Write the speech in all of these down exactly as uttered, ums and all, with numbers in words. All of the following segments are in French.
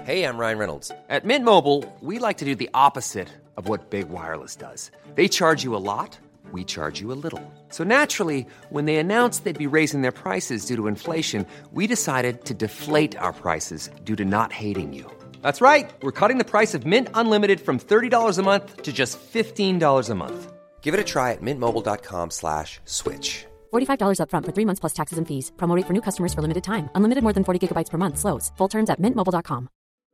Hey, I'm Ryan Reynolds. At Mint Mobile, we like to do the opposite of what Big Wireless does. They charge you a lot, we charge you a little. So naturally, when they announced they'd be raising their prices due to inflation, we decided to deflate our prices due to not hating you. That's right. We're cutting the price of Mint Unlimited from thirty dollars a month to just fifteen dollars a month. Give it a try at mintmobile.com slash switch. forty-five dollars up front for three months plus taxes and fees. Promo rate for new customers for limited time. Unlimited more than forty gigabytes per month. Slows full terms at mint mobile dot com.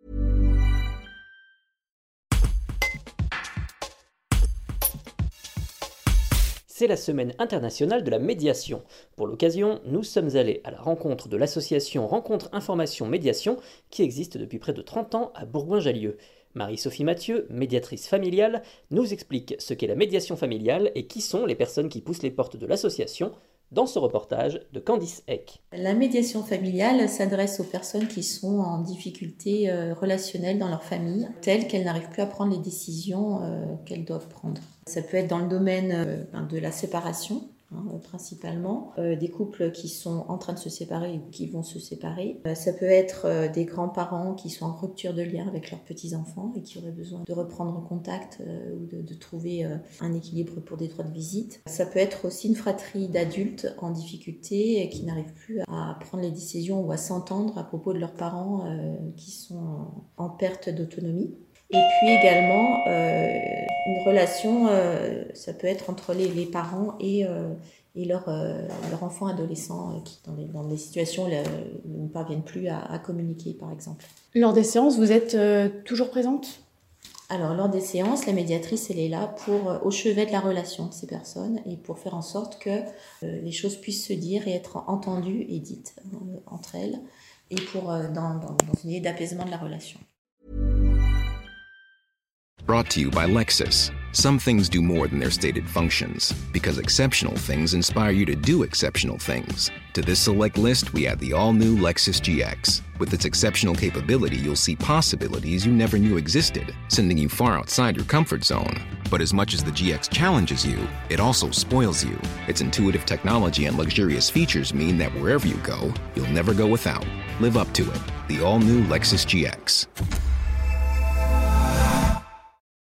C'est la semaine internationale de la médiation. Pour l'occasion, nous sommes allés à la rencontre de l'association Rencontre Information Médiation qui existe depuis près de trente ans à Bourgoin-Jallieu. Marie-Sophie Mathieu, médiatrice familiale, nous explique ce qu'est la médiation familiale et qui sont les personnes qui poussent les portes de l'association dans ce reportage de Candice Eck. La médiation familiale s'adresse aux personnes qui sont en difficulté euh, relationnelle dans leur famille, telles qu'elles n'arrivent plus à prendre les décisions euh, qu'elles doivent prendre. Ça peut être dans le domaine euh, de la séparation, hein, principalement, euh, des couples qui sont en train de se séparer ou qui vont se séparer. Euh, ça peut être euh, des grands-parents qui sont en rupture de lien avec leurs petits-enfants et qui auraient besoin de reprendre contact euh, ou de, de trouver euh, un équilibre pour des droits de visite. Ça peut être aussi une fratrie d'adultes en difficulté et qui n'arrivent plus à prendre les décisions ou à s'entendre à propos de leurs parents euh, qui sont en, en perte d'autonomie. Et puis également, euh, une relation, euh, ça peut être entre les, les parents et, euh, et leur, euh, leur enfant adolescent euh, qui, dans, les, dans des situations là, ne parviennent plus à, à communiquer, par exemple. Lors des séances, vous êtes euh, toujours présente ? Alors, lors des séances, la médiatrice, elle est là pour, euh, au chevet de la relation de ces personnes et pour faire en sorte que euh, les choses puissent se dire et être entendues et dites euh, entre elles et pour, euh, dans, dans, dans une idée d'apaisement de la relation. Brought to you by Lexus. Some things do more than their stated functions, because exceptional things inspire you to do exceptional things. To this select list, we add the all-new Lexus G X. With its exceptional capability, you'll see possibilities you never knew existed, sending you far outside your comfort zone. But as much as the G X challenges you, it also spoils you. Its intuitive technology and luxurious features mean that wherever you go, you'll never go without. Live up to it. The all-new Lexus G X.